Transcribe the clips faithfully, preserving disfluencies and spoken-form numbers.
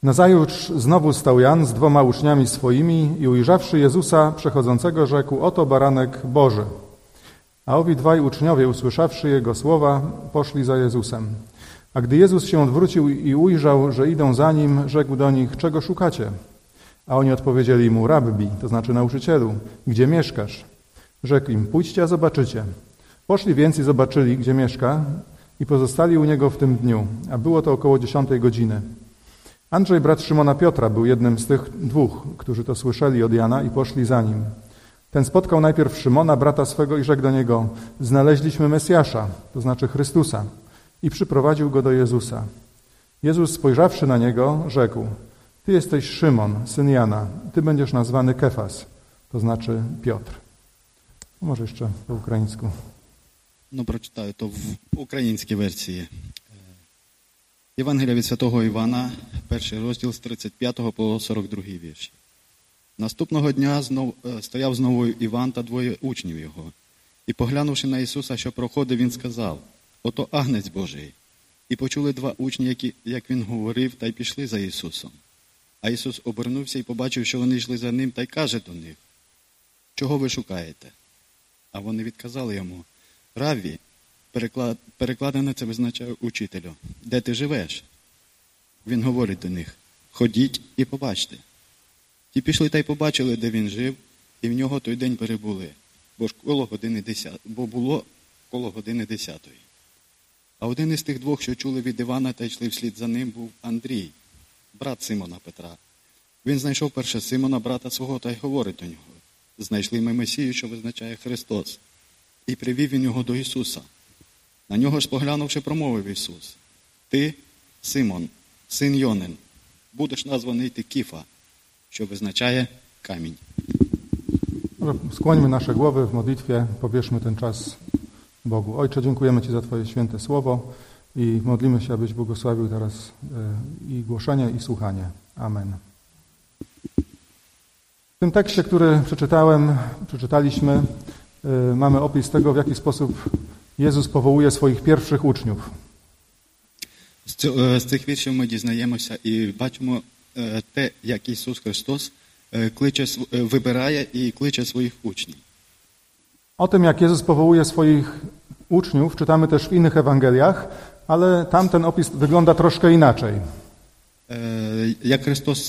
Nazajutrz znowu stał Jan z dwoma uczniami swoimi i ujrzawszy Jezusa przechodzącego, rzekł: oto baranek Boży. A owi dwaj uczniowie, usłyszawszy Jego słowa, poszli za Jezusem. A gdy Jezus się odwrócił i ujrzał, że idą za Nim, rzekł do nich: czego szukacie? A oni odpowiedzieli Mu: Rabbi, to znaczy nauczycielu, gdzie mieszkasz? Rzekł im: pójdźcie, a zobaczycie. Poszli więc i zobaczyli, gdzie mieszka, i pozostali u Niego w tym dniu, a było to około dziesiątej godziny. Andrzej, brat Szymona Piotra, był jednym z tych dwóch, którzy to słyszeli od Jana i poszli za Nim. Ten spotkał najpierw Szymona, brata swego, i rzekł do niego: znaleźliśmy Mesjasza, to znaczy Chrystusa, i przyprowadził go do Jezusa. Jezus, spojrzawszy na niego, rzekł: ty jesteś Szymon, syn Jana, ty będziesz nazwany Kefas, to znaczy Piotr. Może jeszcze po ukraińsku. Ну, прочитаю то в українській версії. Євангелія від Святого Івана, перший розділ з тридцять п'ятого по сорок другий вірш. Наступного дня знов, стояв знову Іван та двоє учнів його. І, поглянувши на Ісуса, що проходив, він сказав: ото Агнець Божий. І почули два учні, які, як він говорив, та й пішли за Ісусом. А Ісус обернувся і побачив, що вони йшли за ним, та й каже до них: чого ви шукаєте? А вони відказали йому: Равві, переклад, перекладено це визначає учителю, де ти живеш? Він говорить до них: ходіть і побачте. Ті пішли та й побачили, де він жив, і в нього той день перебули, бо ж коло години десят... бо було коло години десятої. А один із тих двох, що чули від Івана та йшли вслід за ним, був Андрій, брат Симона Петра. Він знайшов перше Симона, брата свого, та й говорить до нього: знайшли ми Месію, що визначає Христос. І привів він його до Ісуса. На нього ж поглянувши, промовив Ісус: ти, Симон, син Йонин, будеш названий ти Кіфа, що wznaczає камінь. Skłońmy nasze głowy w modlitwie, powierzmy ten czas Bogu. Ojcze, dziękujemy Ci za Twoje święte słowo i modlimy się, abyś błogosławił teraz i głoszenie, i słuchanie. Amen. W tym tekście, który przeczytałem, przeczytaliśmy, mamy opis tego, w jaki sposób Jezus powołuje swoich pierwszych uczniów. З цих віршів ми дізнаємося і бачимо те, як Ісус Христос кличе, вибирає і кличе своїх учнів. O tym, jak Jezus powołuje swoich uczniów, czytamy też w innych Ewangeliach, ale tam ten opis wygląda troszkę inaczej. Jak Христос,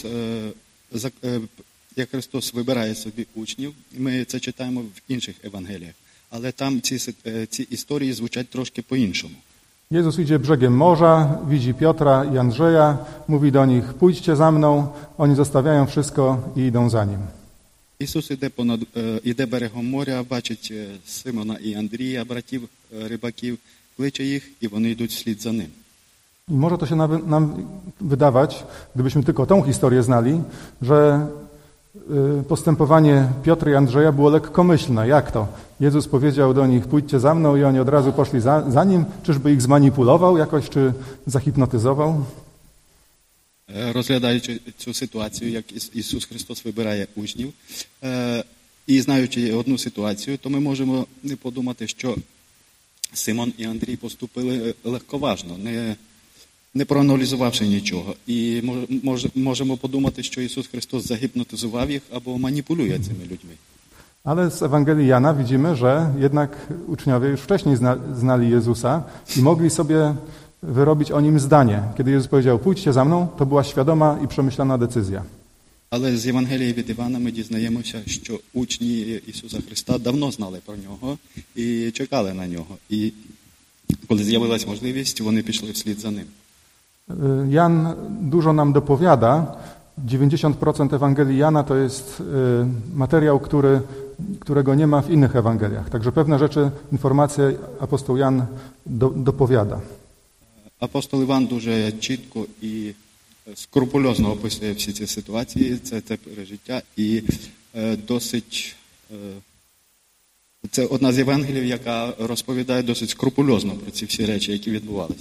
як Христос вибирає собі учнів, ми це читаємо в інших Євангеліях, але там ці, ці історії звучать трошки по-іншому. Jezus idzie brzegiem morza, widzi Piotra i Andrzeja, mówi do nich: pójdźcie za mną. Oni zostawiają wszystko i idą za Nim. Ісус іде, понад, іде берегом моря, бачить Симона і Андрія, братів рибаків, кличе їх, і вони йдуть вслід за ним. I może to się nam wydawać, gdybyśmy tylko tą historię znali, że postępowanie Piotra i Andrzeja było lekkomyślne. Jak to? Jezus powiedział do nich: pójdźcie za mną, i oni od razu poszli za, za Nim. Czyżby ich zmanipulował jakoś, czy zahipnotyzował? Розглядаючи цю ситуацію, як Ісус Христос вибирає учнів, і знаючи одну ситуацію, то ми можемо не подумати, що Симон і Андрій поступили легковажно, не, не проаналізувавши нічого. І мож, можемо подумати, що Ісус Христос загіпнотизував їх або маніпулює цими людьми. Ale z Ewangelii Jana widzimy, że jednak uczniowie już wcześniej zna, znali Jezusa i mogli sobie wyrobić o Nim zdanie. Kiedy Jezus powiedział: pójdźcie za mną, to była świadoma i przemyślana decyzja. Але з Євангелії від Івана ми дізнаємося, що учні Ісуса Христа давно знали про Нього і чекали на Нього. І коли з'явилась можливість, вони пішли вслід за Ним. Jan dużo nam dopowiada. dziewięćdziesiąt procent Ewangelii Jana to jest materiał, który, którego nie ma w innych Ewangeliach. Także pewne rzeczy, informacje apostoł Jan do, dopowiada. Апостол Іван дуже чітко і скрупульозно описує всі ці ситуації, це, це пережиття, і е, досить, е, це одна з Євангелів, яка розповідає досить скрупульозно про ці всі речі, які відбувалися.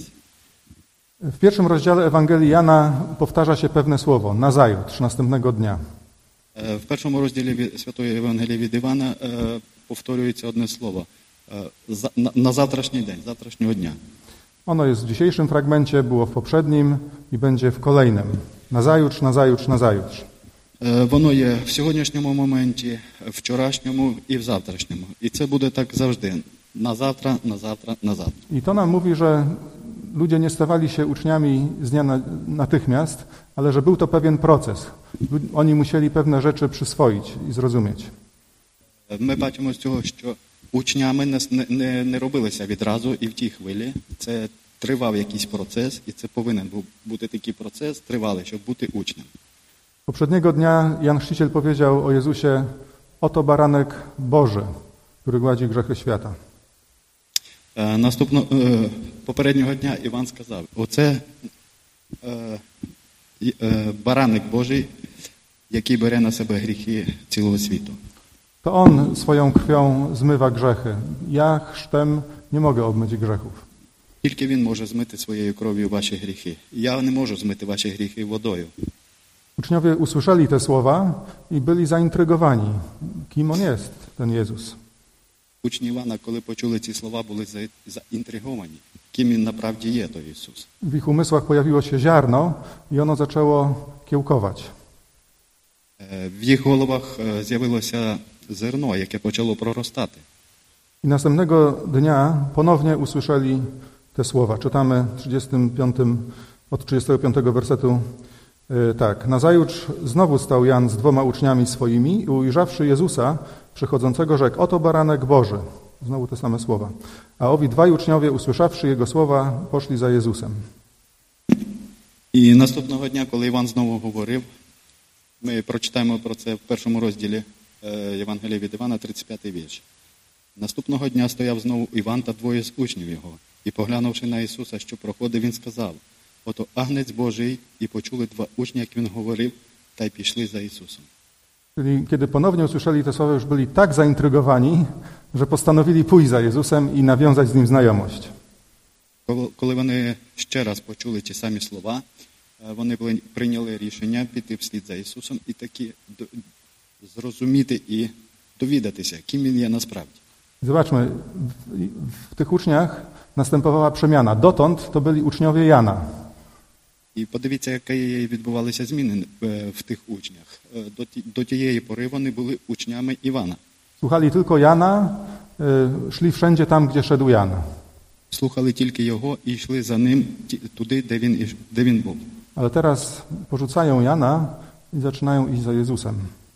W pierwszym rozdziale Ewangelii Jana powtarza się pewne słowo: nazajutrz, następnego dnia. В першому розділі Святої Євангелії від Івана е, повторюється одне слово: е, за, на, на завтрашній день, завтрашнього дня. Ono jest w dzisiejszym fragmencie, było w poprzednim i będzie w kolejnym. Nazajutrz, nazajutrz, nazajutrz. Е, Воно є в сьогоднішньому моменті, вчорашньому і в завтрашньому. І це буде так завжди. На завтра, на завтра, на завтра. I to nam mówi, że ludzie nie stawali się uczniami z dnia na, natychmiast, ale że był to pewien proces. Oni musieli pewne rzeczy przyswoić i zrozumieć. Ми бачимо з цього, що учнями не, не, не робилися відразу і в тій хвилі. Це тривав якийсь процес, і це повинен був бути такий процес, тривалий, щоб бути учнем. Poprzedniego dnia Jan Chrzciciel powiedział o Jezusie: oto baranek Boży, który gładzi grzechy świata. Е, Наступно, е, попереднього дня Іван сказав, оце е, е, бараник Божий, який бере на себе гріхи цілого світу. To On swoją krwią zmywa grzechy. Ja chrztem nie mogę obmyć grzechów. Тільки Він може змити своєю кров'ю ваші гріхи. Я не можу змити ваші гріхи водою. Uczniowie usłyszeli te słowa i byli zaintrygowani. Kim On jest, ten Jezus? Учні Івана, коли почули ці слова, були за- заінтриговані. Ким він направді є, той Ісус. W ich umysłach pojawiło się ziarno i ono zaczęło kiełkować. Е, В їх головах е, з'явилося зерно, яке почало проростати. I następnego dnia ponownie usłyszeli te słowa. Czytamy trzydziestym piątym, od trzydziestego piątego wersetu. Yy, tak. Nazajutrz znowu stał Jan z dwoma uczniami swoimi i ujrzawszy Jezusa przychodzącego rzekł: oto baranek Boży. Znowu te same słowa. A owi dwaj uczniowie, usłyszawszy Jego słowa, poszli za Jezusem. І наступного дня, коли Іван знову говорив, ми прочитаємо про це в першому розділі е, Євангелія від Івана, тридцять п'ятий вірш. Наступного дня стояв знову Іван та двоє з учнів його. І, поглянувши на Ісуса, що проходив, він сказав: ото агнець Божий, і почули два учні, як він говорив, та й пішли за Ісусом. Czyli kiedy ponownie usłyszeli te słowa, już byli tak zaintrygowani, że postanowili pójść za Jezusem i nawiązać z Nim znajomość. Коли- Коли вони ще раз почули ті самі слова, е, вони були- прийняли рішення піти вслід за Ісусом і таки до- зрозуміти і довідатися, ким він є насправді. Zobaczmy, w, w tych uczniach następowała przemiana. Dotąd to byli uczniowie Jana. І подивіться, які відбувалися зміни е, в тих учнях. Е, До ті- До тієї пори вони були учнями Івана. Słuchali tylko Jana, y, szli wszędzie tam, gdzie szedł Jan. Слухали тільки його і йшли за ним ті- туди, де він, іш- де він був. Ale teraz porzucają Jana i zaczynają iść za Jezusem.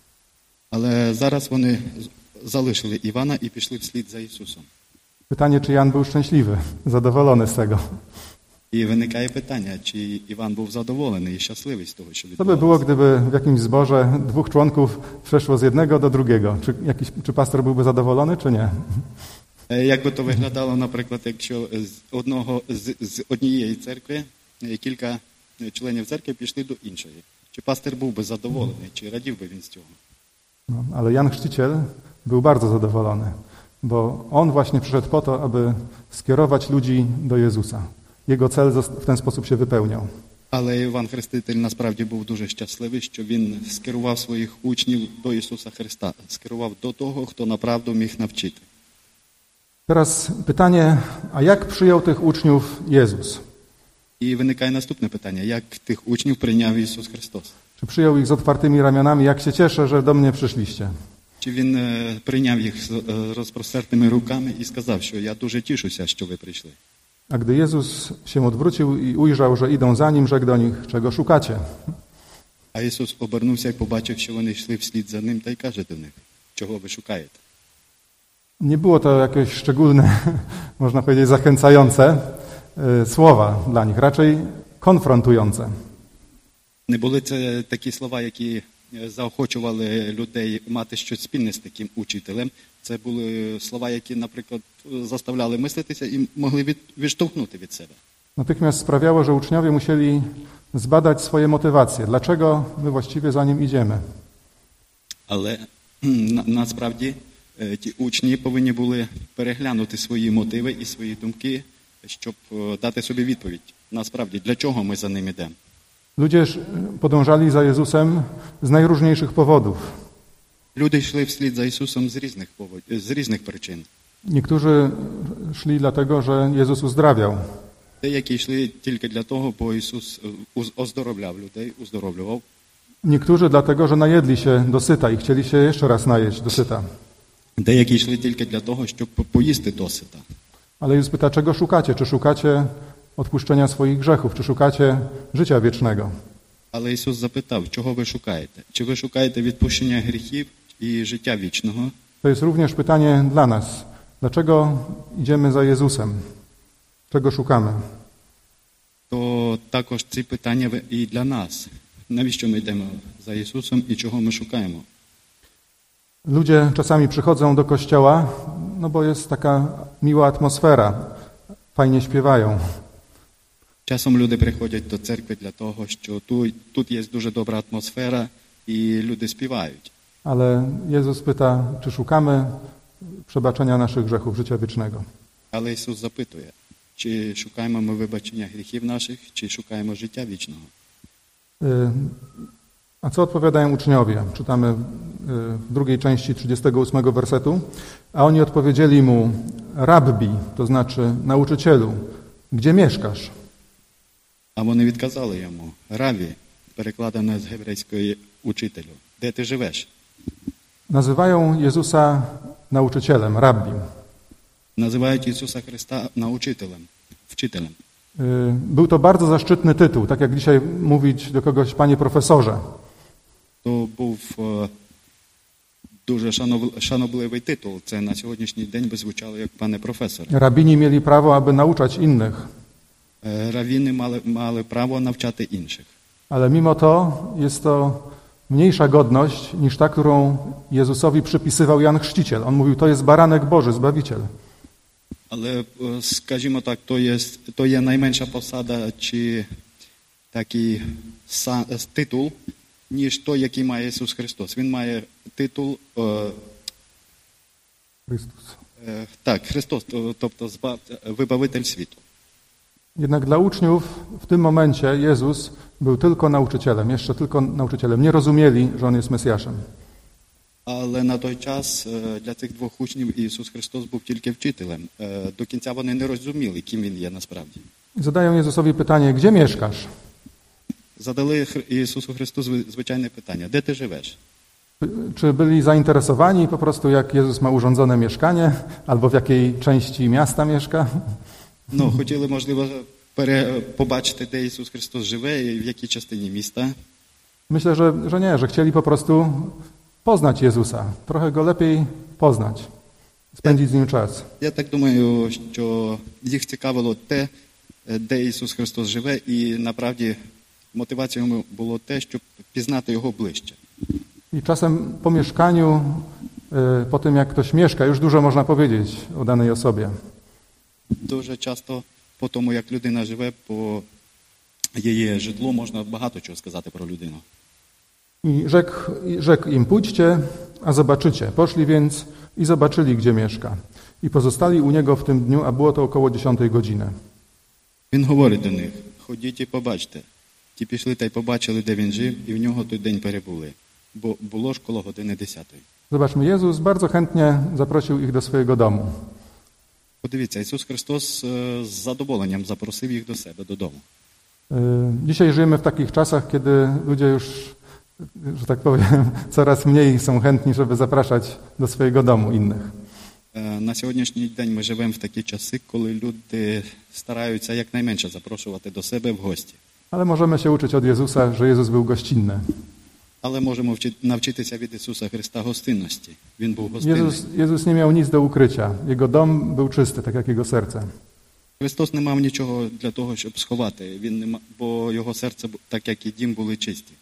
Але зараз вони з- залишили Івана і пішли вслід за Ісусом. Pytanie, czy Jan był szczęśliwy, zadowolony z tego. І виникає питання, чи Іван був задоволений і щасливий з того, що Co by było, відбувалося. gdyby w jakimś zborze dwóch członków przeszło z jednego do drugiego? Czy, jakiś, czy pastor byłby zadowolony, czy nie? Е, Як би то виглядало, наприклад, якщо з одного з, з однієї церкви е, кілька е, членів церкви пішли до іншої? Чи пастир був би задоволений, чи радів би він з цього? No, ale Jan Chrzciciel był bardzo zadowolony, bo on właśnie przyszedł po to, aby skierować ludzi do Jezusa. Jego cel zos- w ten sposób się wypełniał. Але Іван Хреститель насправді був дуже щасливий, що він скерував своїх учнів до Ісуса Христа, скерував до того, хто направду міг навчити. Teraz pytanie, a jak przyjął tych uczniów Jezus? І виникає наступне питання: як тих учнів прийняв Ісус Христос? Czy przyjął ich z otwartymi ramionami? Jak się cieszę, że do mnie przyszliście. Чи він е, прийняв їх з е, розпростертими руками і сказав, що я дуже тішуся, що ви прийшли? A gdy Jezus się odwrócił i ujrzał, że idą za Nim, rzekł do nich: czego szukacie? А Ісус обернувся і побачив, що вони йшли вслід за ним, та й каже до них: чого ви шукаєте? Nie było to jakieś szczególne, można powiedzieć, zachęcające y, słowa dla nich, raczej konfrontujące. Не були це такі слова, які е, заохочували людей мати щось спільне з таким учителем. Це були слова, які, наприклад, заставляли мислитися і могли від, відштовхнути від себе. Natychmiast sprawiało, że uczniowie musieli zbadać swoje motywacje. Dlaczego my właściwie za Nim idziemy? Але кхм, на, насправді е, ті учні повинні були переглянути свої мотиви і свої думки, щоб е, дати собі відповідь. Насправді, для чого ми за ним йдемо? Ludzie sz- podążali za Jezusem z najróżniejszych powodów. Люди йшли вслід за Ісусом з різних повод... з різних причин. Niektórzy szli dlatego, że Jezus uzdrawiał. Деякі йшли тільки для того, бо Ісус оздоровляв людей, uzdorowił. Niektórzy dlatego, że najedli się dosyta i chcieli się jeszcze raz najeść dosyta. Деякі йшли тільки для того, щоб поїсти досита. Ale Jezus pyta, czego szukacie? Czy szukacie odpuszczenia swoich grzechów? Czy szukacie życia wiecznego? Але Ісус запитав, чого ви шукаєте? Чи ви шукаєте відпущення гріхів і життя вічного? To jest również pytanie dla nas. Dlaczego idziemy za Jezusem? Czego szukamy? То також ці питання і для нас. Навіщо ми йдемо за Ісусом і чого ми шукаємо? Ludzie czasami przychodzą do kościoła, no bo jest taka miła atmosfera, fajnie śpiewają. Часом люди приходять до церкви для того, що тут, тут є дуже добра атмосфера і люди співають. Ale Jezus pyta, czy szukamy przebaczenia naszych grzechów, życia wiecznego. Але Ісус запитує, чи шукаємо ми вибачення гріхів наших, чи шукаємо життя вічного. A co odpowiadają uczniowie? Czytamy w drugiej części trzydziestego ósmego wersetu. A oni odpowiedzieli mu, rabbi, to znaczy nauczycielu, gdzie mieszkasz? А вони відказали йому, раві, перекладено з грецької учителю, де ти живеш? Nazywają Jezusa nauczycielem, rabbim. Називають Ісуса Христа научителем, вчителем. Był to bardzo zaszczytny tytuł, tak jak dzisiaj mówić do kogoś panie profesorze. То був дуже шанобливий титул. Це на сьогоднішній день би звучало як пане професор. Rabini mieli prawo, aby nauczać innych. Равіни мали, мали право навчати інших. Ale mimo to jest to mniejsza godność niż ta, którą Jezusowi przypisywał Jan Chrzciciel. On mówił, to jest baranek Boży, Zbawiciel. Але, скажімо так, то є, то є найменша посада чи такий титул, ніж той, який має Ісус Христос. Він має титул Chrystus. Е, так, Христос, тобто збав, вибавитель світу. Jednak dla uczniów w tym momencie Jezus był tylko nauczycielem, jeszcze tylko nauczycielem. Nie rozumieli, że On jest Mesjaszem. Але на той час для цих двох учнів Ісус Христос був тільки вчителем. До кінця вони не розуміли, ким Він є насправді. Zadają Jezusowi pytanie, gdzie mieszkasz? Задали Ісусу Христу звичайне питання, де ти живеш? Czy byli zainteresowani po prostu, jak Jezus ma urządzone mieszkanie, albo w jakiej części miasta mieszka? Ну, хотіли, можливо, пере... побачити, де Ісус Христос живе і в якій частині міста. Myślę, że, że nie, że chcieli po prostu poznać Jezusa, trochę Go lepiej poznać, spędzić z Nim czas. Я так думаю, що їх цікавило те, де Ісус Христос живе, і, направді, мотивацією було те, щоб пізнати Його ближче. I czasem po mieszkaniu, po tym jak ktoś mieszka, już dużo można powiedzieć o danej osobie. Дуже часто по тому, як людина живе, по її житлу, можна багато чого сказати про людину. I rzekł, rzekł im, pójdźcie, a zobaczycie. Poszli więc i zobaczyli, gdzie mieszka. I pozostali u niego w tym dniu, a było to około dziesiątej godziny. Він говорить до них, ходіть і побачте. Ті пішли та й побачили, де він жив, і в нього той день перебули. Бо було ж коло години десятої. Zobaczmy, Jezus bardzo chętnie zaprosił ich do swojego domu. Подивіться, Ісус Христос з задоволенням запросив їх до себе, додому. Dzisiaj żyjemy w takich czasach, kiedy ludzie już, że tak powiem, coraz mniej są chętni, żeby zapraszać do swojego domu innych. На сьогоднішній день ми живемо в такі часи, коли люди стараються якнайменше запрошувати до себе в гості. Ale możemy się uczyć od Jezusa, że Jezus był gościnny. Але можемо навчитися від Ісуса Христа гостинності. Він був гостинний. Jezus, Jezus nie miał nic do ukrycia. Jego dom był czysty, tak jak jego serce. Христос не мав нічого для того, щоб сховати, він не мав, бо його серце, так як і дім, були чисті.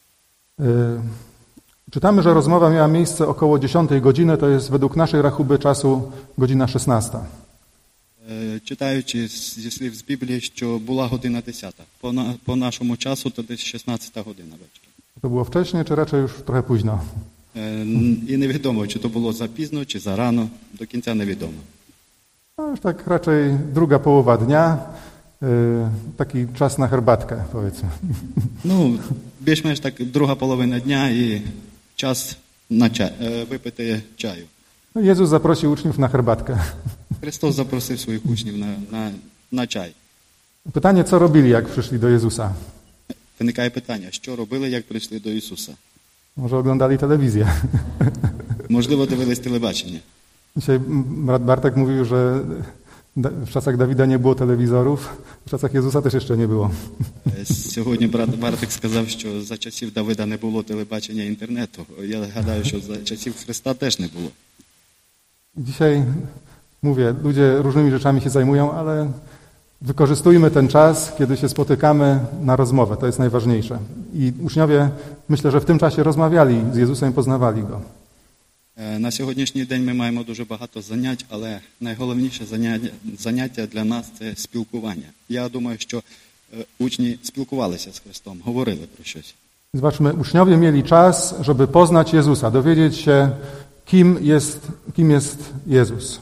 Czytamy, że rozmowa miała miejsce około dziesiątej godziny, to jest według naszej rachuby czasu godzina szesnasta. Читаючи зі слів з Біблії, що була година десята. По, на, по нашому часу то десь шістнадцята година вечора. To było wcześnie, czy raczej już trochę późno? І невідомо, чи то було запізно, чи зарано, до кінця невідомо. No już tak raczej druga połowa dnia, taki czas na herbatkę, powiedzmy. Ну, більш-менш так друга половина дня і час на чай, випити чаю. No, Jezus zaprosił uczniów na herbatkę. Христос запросив своїх учнів на, на, на чай. Pytanie, co robili, jak przyszli do Jezusa? Виникає питання, що робили, як прийшли до Ісуса? Może oglądali telewizję. Можливо, дивились телебачення. Dzisiaj brat Bartek mówił, że w czasach Dawida nie było telewizorów, w czasach Jezusa też jeszcze nie było. Сьогодні брат Бартик сказав, що за часів Давида не було телебачення і інтернету. Я гадаю, що за часів Христа теж не було. Dzisiaj, mówię, ludzie różnymi rzeczami się zajmują, ale wykorzystujmy ten czas, kiedy się spotykamy na rozmowę. To jest najważniejsze. I uczniowie, myślę, że w tym czasie rozmawiali z Jezusem i poznawali Go. На сьогоднішній день ми маємо дуже багато занять, але найголовніше заняття, заняття для нас – це спілкування. Я думаю, що учні спілкувалися з Христом, говорили про щось. Zobaczmy, uczniowie mieli czas, żeby poznać Jezusa, dowiedzieć się, kim jest, kim jest Jezus.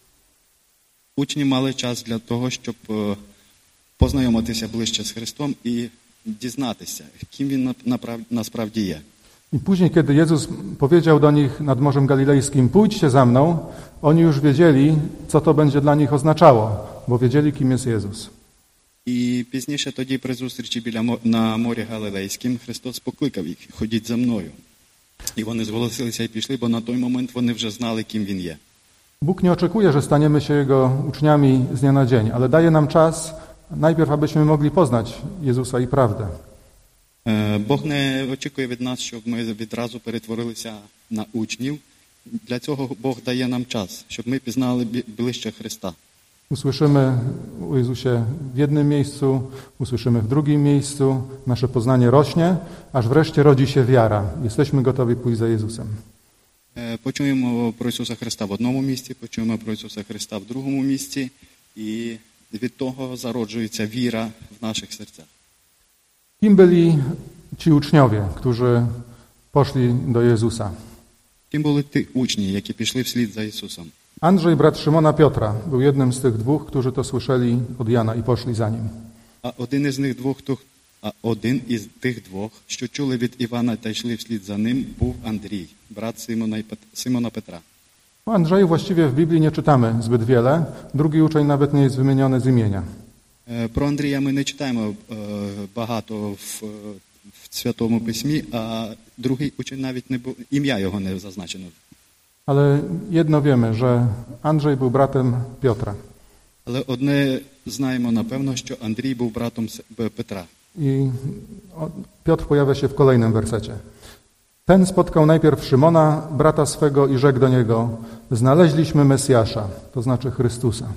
Учні мали час для того, щоб познайомитися ближче з Христом і дізнатися, ким Він насправді є. I później, kiedy Jezus powiedział do nich nad Morzem Galilejskim, pójdźcie za mną, oni już wiedzieli, co to będzie dla nich oznaczało, bo wiedzieli, kim jest Jezus. І пізніше тоді при зустрічі біля на морі Галилейським Христос покликав їх: ходіть за мною. І вони зголосилися і пішли, бо на той момент вони вже знали, ким Він є. Bóg nie oczekuje, że staniemy się Jego uczniami z dnia na dzień, ale daje nam czas najpierw, abyśmy mogli poznać Jezusa i prawdę. Бог не очікує від нас, щоб ми відразу перетворилися на учнів. Для цього Бог дає нам час, щоб ми пізнали ближче Христа. Usłyszymy o Jezusie w jednym miejscu, usłyszymy w drugim miejscu, nasze poznanie rośnie, aż wreszcie rodzi się wiara. Jesteśmy gotowi pójść za Jezusem. Почуємо про Ісуса Христа в одному місці, почуємо про Ісуса Христа в другому місці, і від того зароджується віра в наших серцях. Kim byli ci uczniowie, którzy poszli do Jezusa? Ким були ті учні, які пішли вслід за Ісусом? Andrzej, brat Szymona Piotra, był jednym z tych dwóch, którzy to słyszeli od Jana i poszli za nim. А один із них двох, хто а один із тих двох, що чули від Івана та йшли вслід за ним, був Андрій, брат Симона, Симона Петра. O Andrzeju właściwie w Biblii nie czytamy zbyt wiele. Drugi uczeń nawet nie jest wymieniony z imienia. Про Андрія ми не читаємо багато в, в Святому Письмі, а другий учень навіть не був, ім'я його не зазначено. Ale jedno wiemy, że Andrzej był bratem Piotra. Але одне знаємо напевно, що Андрій був братом Петра. I Piotr pojawia się w kolejnym wersecie. Ten spotkał najpierw Szymona, brata swego, i rzekł do niego: znaleźliśmy Mesjasza, to znaczy Chrystusa.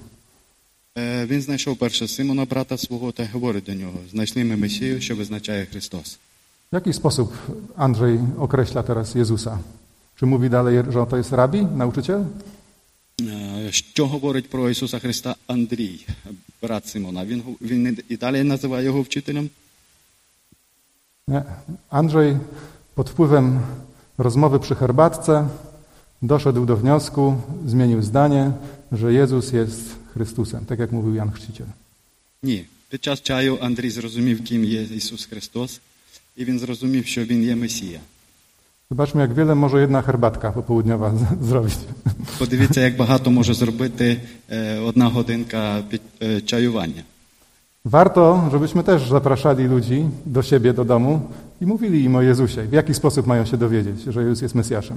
Він знайшов перше Симона, брата свого, та говорить до нього: знайшли ми Месію, що визначає Христос. W jaki sposób Andrzej określa teraz Jezusa? Czy mówi dalej, że to jest rabi, nauczyciel? Що говорить про Ісуса Христа Андрій, брат Симона? Він, він і далі називає його вчителем? Nie. Andrzej pod wpływem rozmowy przy herbatce doszedł do wniosku, zmienił zdanie, że Jezus jest Chrystusem, tak jak mówił Jan Chrzciciel. Ні. Під час чаю Андрій зрозумів, ким є Ісус Христос, і він зрозумів, що Він є Месія. Zobaczmy, jak wiele może jedna herbatka popołudniowa z- zrobić. Подивіться, як багато може зробити одна годинка чаювання. Warto, żebyśmy też zapraszali ludzi do siebie, do domu i mówili im o Jezusie. W jaki sposób mają się dowiedzieć, że Jezus jest Mesjaszem.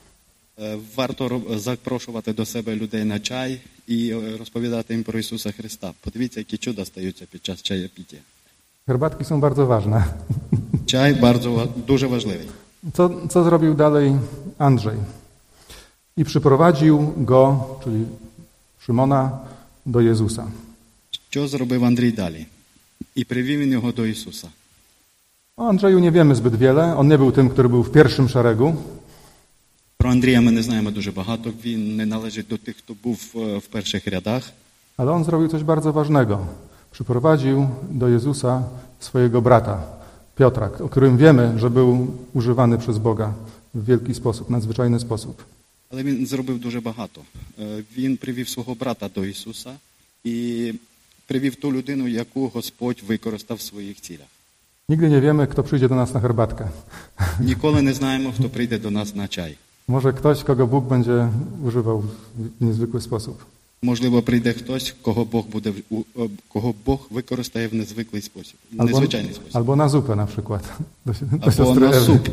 Варто запрошувати до себе людей на чай і розповідати їм про Ісуса Христа. Подивіться, які чуда стаються під час чаєпіття. Herbatki są bardzo ważne. Чай bardzo, дуже важливий. Co, co zrobił dalej Andrzej? I przyprowadził go, czyli Szymona, do Jezusa. Що зробив Андрій далі? І привів він його до Ісуса. O Andrzeju nie wiemy zbyt wiele. On nie był tym, który był w pierwszym szeregu. Про Андрія ми не знаємо дуже багато. Він не належить до тих, хто був в перших рядах. Ale on zrobił coś bardzo ważnego. Przyprowadził do Jezusa swojego brata, Piotra, o którym wiemy, że był używany przez Boga w wielki sposób, nadzwyczajny sposób. Але він зробив дуже багато. Він привів свого брата до Ісуса і привів ту людину, яку Господь використав в своїх цілях. Nigdy nie wiemy, kto przyjdzie do nas na herbatkę. Ніколи не знаємо, хто прийде до нас на чай. Może ktoś, kogo Bóg będzie używał w niezwykły sposób. Можливо, прийде хтось, кого Бог буде кого Бог використає в незвиклий спосіб, albo, незвичайний спосіб. Albo na zupę na przykład. Do, do Albo siostry na Ewy. sup.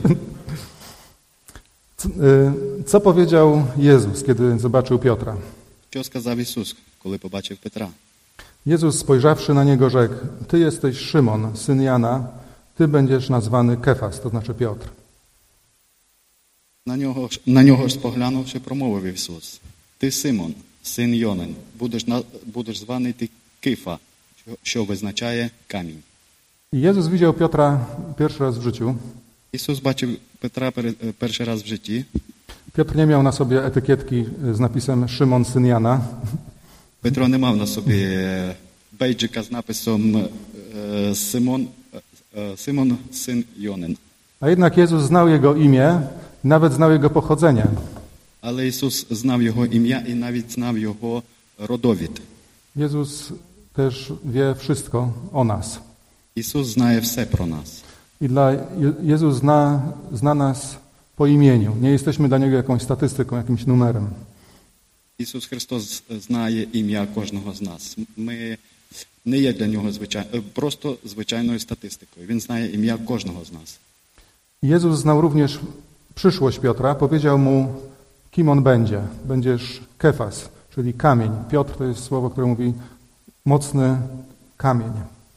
Co, co powiedział Jezus, kiedy zobaczył Piotra? Що сказав Ісус, коли побачив Петра? Jezus spojrzawszy na niego rzekł: Ty jesteś Szymon, syn Jana, ty będziesz nazwany Kefas, to znaczy Piotr. На нього, на нього ж споглянувши, промовив Ісус: Ти Симон, син Йонин, будеш, на, будеш званий ти Кифа, що, що визначає камінь. I Jezus widział Piotra pierwszy raz w życiu. Ісус бачив Петра пер, перший раз в житті. Piotr nie miał na sobie etykietki z napisem Szymon, syn Jana. Петро не мав на собі бейджика з написом Симон, Симон, син Йонин. A jednak Jezus znał jego imię, nawet znał jego pochodzenie. Але Ісус знав його ім'я і навіть знав його родовід. Jezus też wie wszystko o nas. Ісус знає все про нас. I dla Je- Jezus zna, zna nas po imieniu. Nie jesteśmy dla Niego jakąś statystyką, jakimś numerem. Ісус Христос знає ім'я кожного з нас. Ми не є для нього звичай... просто звичайною статистикою. Він знає ім'я кожного з нас. Jezus znał również przyszłość Piotra. Powiedział mu, kim on będzie. Będziesz Kefas, czyli kamień. Piotr to jest słowo, które mówi mocny kamień.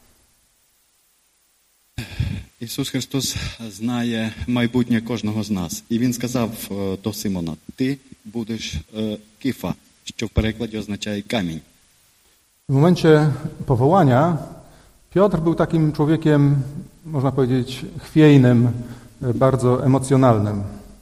Ісус Христос знає майбутнє кожного з нас. І Він сказав е, до Симона: ти будеш е, Кифа, що в перекладі означає камінь. W momencie powołania Piotr był takim człowiekiem, można powiedzieć, chwiejnym, bardzo emocjonalnym.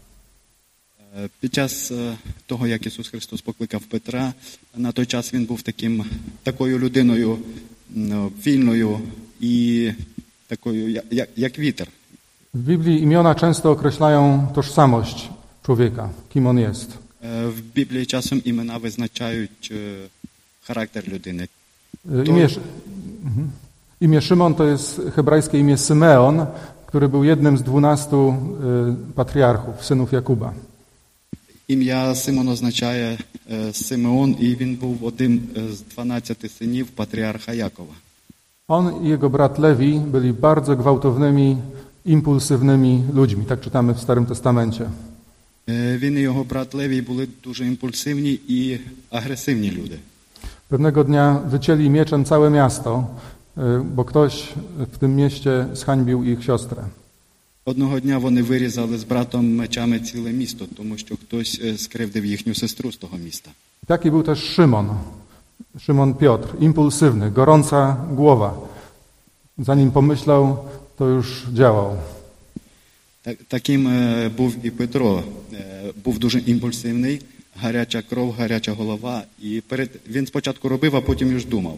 Е, Під час е, того, як Ісус Христос покликав Петра, на той час він був таким, такою людиною м, вільною і такою, як, як, як вітер. W Biblii imiona często określają tożsamość człowieka, kim on jest. Е, В Біблії часом імена визначають е, характер людини. Imię, mhm. imię Szymon to jest hebrajskie imię Symeon, który był jednym z dwunastu y, patriarchów, synów Jakuba. Ім'я Симон означає е, Симеон, і він був одним з дванадцяти синів патріарха Якова. On i jego brat Lewi byli bardzo gwałtownymi, impulsywnymi ludźmi, tak czytamy w Starym Testamencie. Е, Він і його брат Левій були дуже імпульсивні і агресивні люди. Pewnego dnia wycięli mieczem całe miasto, y, bo ktoś w tym mieście zhańbił ich siostrę. Одного дня вони вирізали з братом мечами ціле місто, тому що хтось е, скривдив їхню сестру з того міста. Taki był też Szymon, Szymon Piotr, impulsywny, gorąca głowa. Zanim pomyślał, to już działał. Так, таким е, був і Петро. Е, Був дуже імпульсивний, гаряча кров, гаряча голова. І перед він спочатку робив, а потім już думав.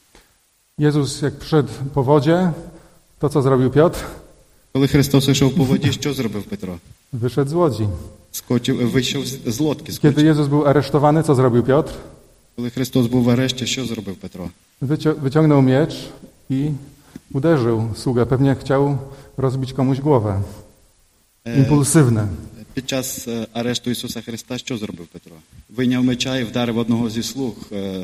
Jezus jak przyszedł po wodzie, to co zrobił Piotr? Коли Христос йшов по воді, що зробив Петро? Wyszedł z łodzi. Скочив, вийшов з з лодки. Kiedy Скочив. Jezus był aresztowany, co zrobił Piotr? Коли Христос був в арешті, що зробив Петро? Wycio- wyciągnął miecz i uderzył sługę. Pewnie chciał rozbić komuś głowę. Е, Impulsywny. Під час е, арешту Ісуса Христа що зробив Петро? Вийняв меча і вдарив одного зі слуг. е,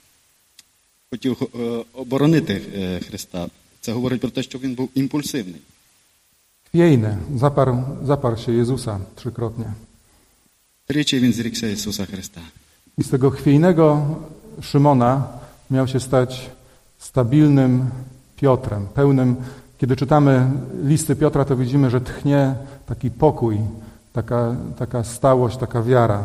Хотів е, оборонити е, Христа. Це говорить про те, що він був імпульсивний. Chwiejny. Zaparł, zaparł się Jezusa trzykrotnie. Тричі він зрікся Ісуса Христа. I z tego chwiejnego Szymona miał się stać stabilnym Piotrem, pełnym. Kiedy czytamy listy Piotra, to widzimy, że tchnie taki pokój, taka, taka stałość, taka wiara.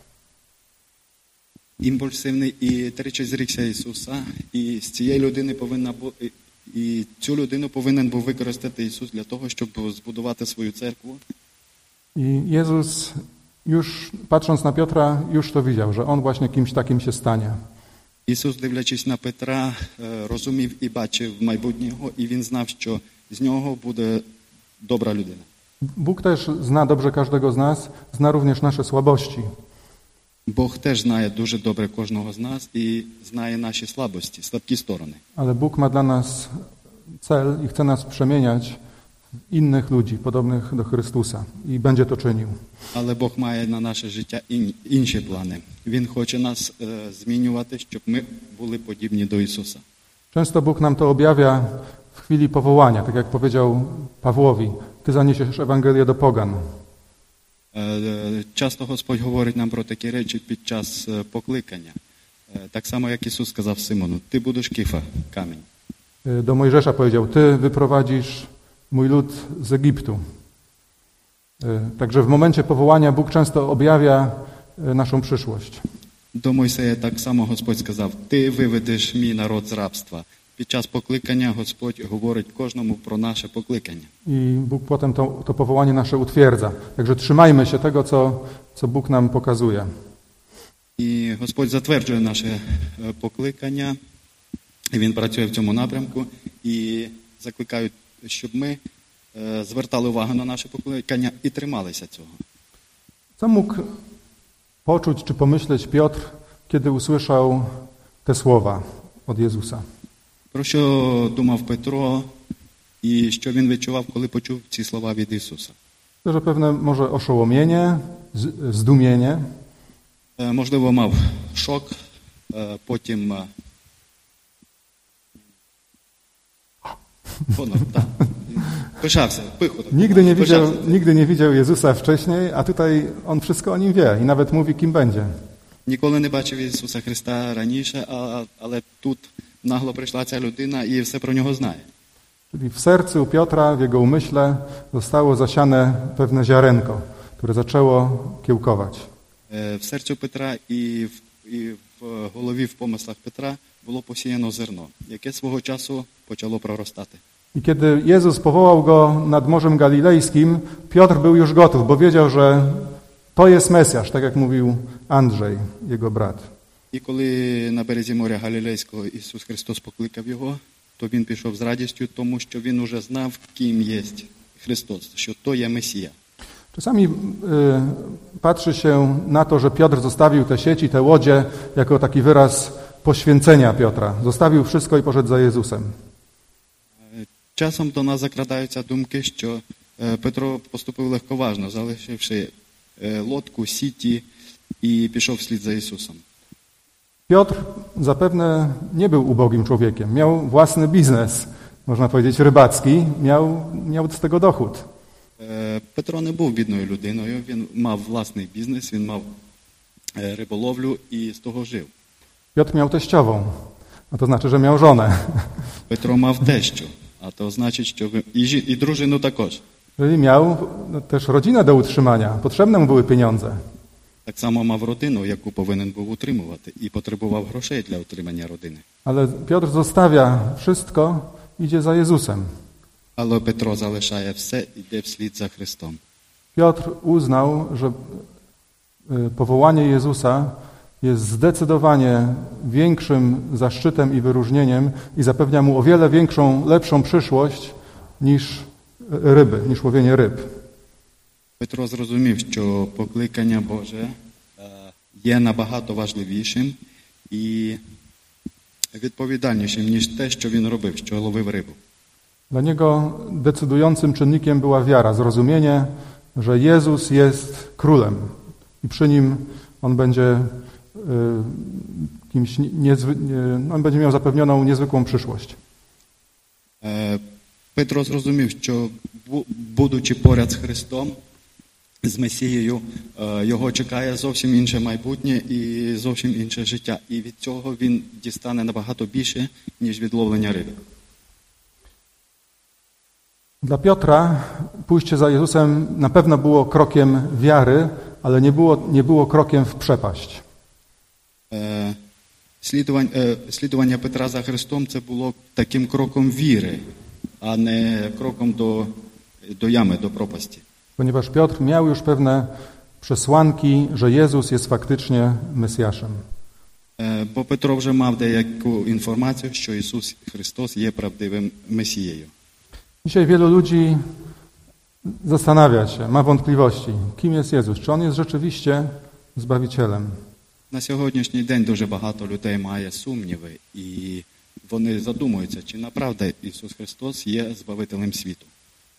Імпульсивний і тричі зрікся Ісуса. І з цієї людини повинна бути, і цю людину повинен був використати Ісус для того, щоб збудувати свою церкву. I Jezus już patrząc na Piotra, już to widział, że on właśnie kimś takim się stanie. Ісус, дивлячись на Петра, е, розумів і бачив майбутнього, і він знав, що з нього буде добра людина. Bóg też zna dobrze każdego z nas, zna również nasze słabości. Бог теж знає дуже добре кожного з нас і знає наші слабості, слабкі сторони. Ale Bóg ma dla nas cel i chce nas przemieniać innych ludzi, podobnych do Chrystusa i będzie to czynił. Але Бог має на наше життя ін- інші плани. Він хоче нас е, змінювати, щоб ми були подібні до Ісуса. Często Bóg nam to objawia w chwili powołania, tak jak powiedział Pawłowi, ty zaniesiesz Ewangelię do pogan. Е, е, Часто Господь говорить нам про такі речі під час е, покликання. Е, Так само, як Ісус сказав Симону, ти будеш кифа, камінь. Do Mojżesza powiedział, ty wyprowadzisz mój lud z Egiptu. Także w momencie powołania Bóg często objawia naszą przyszłość. До Мойсея так само Господь сказав, ти виведеш мій народ з рабства. Під час покликання Господь говорить кожному про наше покликання. I Bóg potem to, to powołanie nasze utwierdza. Także trzymajmy się tego, co, co Bóg nam pokazuje. І Господь затверджує наше е, покликання, і Він працює в цьому напрямку, і закликають, щоб ми е, звертали увагу на наше покликання і трималися цього. Co mógł poczuć czy pomyśleć Piotr, kiedy usłyszał te słowa od Jezusa? Про що думав Петро і що він відчував, коли почув ці слова від Ісуса? To, że pewne może oszołomienie, z- zdumienie, Е, Можливо, мав шок, е, потім е, honor, tak. Пишався, пихо. так. Nigdy nie, widział, Пишався. nigdy nie widział Jezusa wcześniej, a tutaj on wszystko o nim wie i nawet mówi, kim będzie. Ніколи не бачив Ісуса Христа раніше, а- але тут нагло прийшла ця людина і все про нього знає. Czyli w sercu Piotra, w jego umyśle zostało zasiane pewne ziarenko, które zaczęło kiełkować. Е, В серцю Петра і в, і в голові, в помислах Петра було посіяно зерно, яке свого часу почало проростати. I kiedy Jezus powołał go nad Morzem Galilejskim, Piotr był już gotów, bo wiedział, że to jest Mesjasz, tak jak mówił Andrzej, jego brat. І коли на березі моря Галілейського Ісус Христос покликав його, то він пішов з радістю, тому що він уже знав, ким є Христос, що то є Месія. Czasami y, patrzy się na to, że Piotr zostawił te sieci, te łodzie, jako taki wyraz poświęcenia Piotra. Zostawił wszystko i poszedł za Jezusem. Часом до нас закрадаються думки, що е, Петро поступив легковажно, залишивши е, лодку, сіті і пішов вслід за Ісусом. Piotr zapewne nie był ubogim człowiekiem. Miał własny biznes, można powiedzieć rybacki, miał, miał z tego dochód. Е, Петро не був бідною людиною, він мав власний бізнес, він мав е, риболовлю і з того жив. Piotr miał teściową, a to znaczy, że miał żonę. Петро мав тещу, а то значить, що ви... і, жі... і дружину також. Czyli miał no, też rodzinę do utrzymania. Potrzebne mu były pieniądze. Так само мав родину, яку повинен був утримувати, і потребував грошей для утримання родини. Ale Piotr zostawia wszystko, idzie za Jezusem. Але Петро залишає все, іде вслід за Христом. Piotr uznał, że y, powołanie Jezusa jest zdecydowanie większym zaszczytem i wyróżnieniem i zapewnia mu o wiele większą, lepszą przyszłość niż ryby, niż łowienie ryb. Петро зрозумів, що покликання Боже е, є набагато важливішим і відповідальнішим, ніж те, що він робив, що ловив рибу. Dla niego decydującym czynnikiem była wiara, zrozumienie, że Jezus jest królem i przy nim on będzie y, kimś niezwy, nie, on będzie miał zapewnioną niezwykłą przyszłość. Е, Петро зрозумів, що бу- будучи поряд з Христом, з Месією, е, його чекає зовсім інше майбутнє і зовсім інше життя. І від цього він дістане набагато більше, ніж від ловлення риби. Dla Piotra pójście za Jezusem na pewno było krokiem wiary, ale nie było, nie było krokiem w przepaść. Е, Слідування, е, слідування Петра за Христом – це було таким кроком віри, а не кроком до, до ями, до пропасті. Ponieważ Piotr miał już pewne przesłanki, że Jezus jest faktycznie Mesjaszem. Е, Бо Петро вже мав деяку інформацію, що Ісус Христос є правдивим Месією. Dzisiaj wielu ludzi zastanawia się, ma wątpliwości, kim jest Jezus, czy On jest rzeczywiście Zbawicielem. На сьогоднішній день дуже багато людей має сумніви, і вони задумуються, чи направда Ісус Христос є Збавителем світу.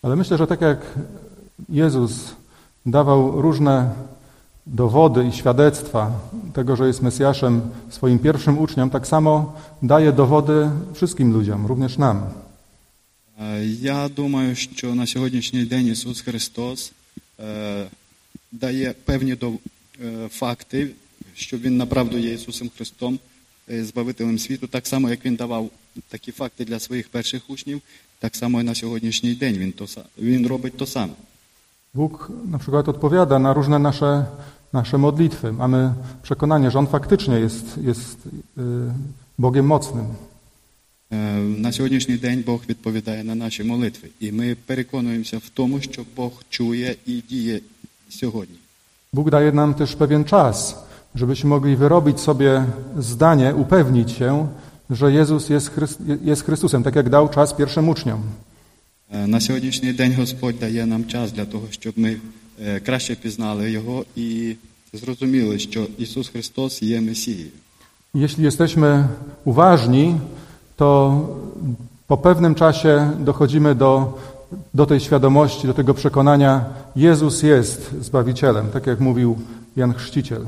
Ale myślę, że tak jak Jezus dawał różne dowody i świadectwa tego, że jest Mesjaszem swoim pierwszym uczniom, tak samo daje dowody wszystkim ludziom, również nam. Я думаю, що на сьогоднішній день Ісус Христос е, дає певні до, е, факти, що Він направду є Ісусом Христом, е, Збавителем світу, так само, як Він давав такі факти для своїх перших учнів, так само і на сьогоднішній день Він, то, він робить то саме. Bóg na przykład odpowiada na różne nasze, nasze modlitwy. Mamy przekonanie, że On faktycznie jest, jest yy, Bogiem mocnym. На сьогоднішній день Бог відповідає на наші молитви. І ми переконуємося в тому, що Бог чує і діє сьогодні. Bóg daje nam też pewien czas, żebyśmy mogli wyrobić sobie zdanie, upewnić się, że Jezus jest, Chryst, jest Chrystusem, tak jak dał czas pierwszym uczniom. На сьогоднішній день Господь дає нам час для того, щоб ми краще пізнали Його і зрозуміли, що Ісус Христос є Месією. Jeśli jesteśmy uważni, to po pewnym czasie dochodzimy do, do tej świadomości, do tego przekonania, Jezus jest Zbawicielem, tak jak mówił Jan Chrzciciel.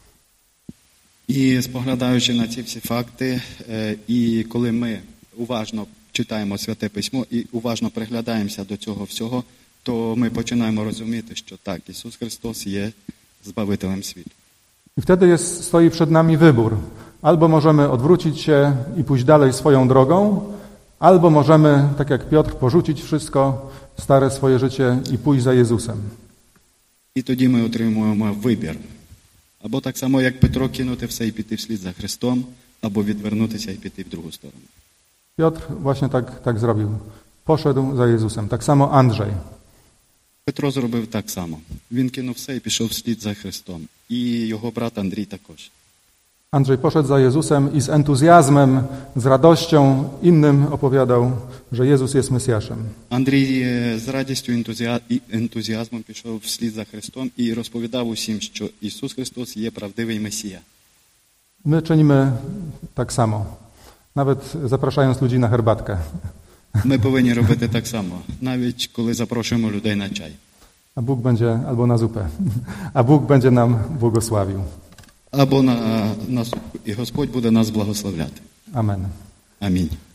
І споглядаючи на ці всі факти, і коли ми уважно читаємо Святе Письмо і уважно приглядаємося до цього всього, то ми починаємо розуміти, що так, Ісус Христос є Збавителем світу. I wtedy jest, stoi przed nami wybór. Albo możemy odwrócić się i pójść dalej swoją drogą, albo możemy, tak jak Piotr, porzucić wszystko, stare swoje życie i pójść za Jezusem. І тоді ми отримуємо вибір. Або так само, як Петро, кинути все і піти вслід за Христом, або відвернутися і піти в другу сторону. Piotr właśnie tak, tak zrobił. Poszedł za Jezusem. Tak samo Andrzej. Петро зробив так само. Він кинув все і пішов вслід за Христом. І його брат Андрій також. Andrzej poszedł za Jezusem i z entuzjazmem, z radością innym opowiadał, że Jezus jest Mesjaszem. Андрій з радістю і ентузіазмом пішов вслід за Христом і розповідав усім, що Ісус Христос є правдивий Месія. My czynimy tak samo, nawet zapraszając ludzi na herbatkę. Ми повинні робити так само, навіть коли запрошуємо людей на чай. A Bóg będzie, albo na zupę, a Bóg będzie nam błogosławił. Або на, на суп. І Господь буде нас благословляти. Amen. Амінь.